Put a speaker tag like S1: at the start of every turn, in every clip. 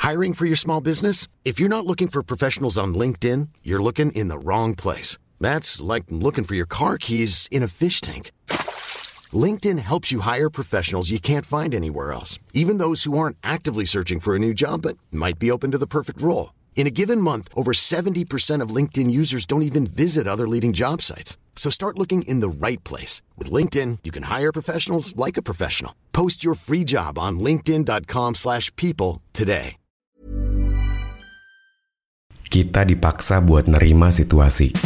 S1: Hiring for your small business? If you're not looking for professionals on LinkedIn, you're looking in the wrong place. That's like looking for your car keys in a fish tank. LinkedIn helps you hire professionals you can't find anywhere else, even those who aren't actively searching for a new job but might be open to the perfect role. In a given month, over 70% of LinkedIn users don't even visit other leading job sites. So start looking in the right place. With LinkedIn, you can hire professionals like a professional. Post your free job on linkedin.com/people today.
S2: Kita dipaksa buat nerima situasi.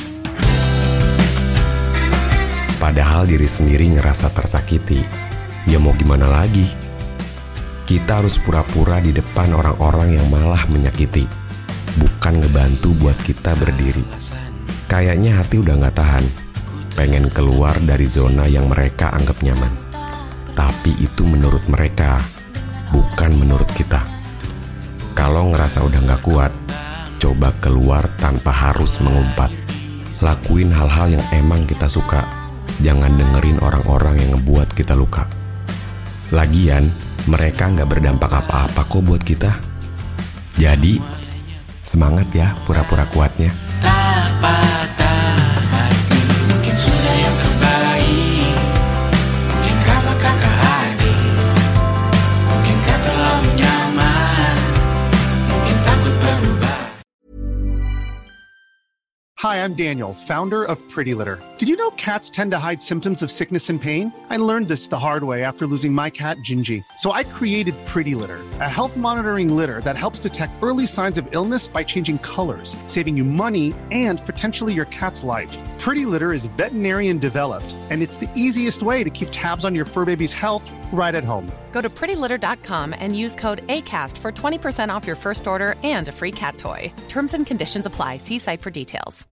S2: Padahal diri sendiri ngerasa tersakiti. Ya mau gimana lagi? Kita harus pura-pura di depan orang-orang yang malah menyakiti, bukan ngebantu buat kita berdiri. Kayaknya hati udah gak tahan, pengen keluar dari zona yang mereka anggap nyaman. Tapi itu menurut mereka, bukan menurut kita. Kalau ngerasa udah gak kuat, coba keluar tanpa harus mengumpat. Lakuin hal-hal yang emang kita suka. Jangan dengerin orang-orang yang ngebuat kita luka. Lagian, mereka gak berdampak apa-apa kok buat kita. Jadi, semangat ya pura-pura kuatnya.
S3: Tak patah hati, mungkin sudah yang terbaik. Mungkin karena kakak adik, mungkin kau terlalu nyaman, mungkin takut berubah.
S4: Hi, I'm Daniel, founder of Pretty Litter. Did you know cats tend to hide symptoms of sickness and pain? I learned this the hard way after losing my cat, Gingy. So I created Pretty Litter, a health monitoring litter that helps detect early signs of illness by changing colors, saving you money and potentially your cat's life. Pretty Litter is veterinarian developed, and it's the easiest way to keep tabs on your fur baby's health right at home.
S5: Go to prettylitter.com and use code ACAST for 20% off your first order and a free cat toy. Terms and conditions apply. See site for details.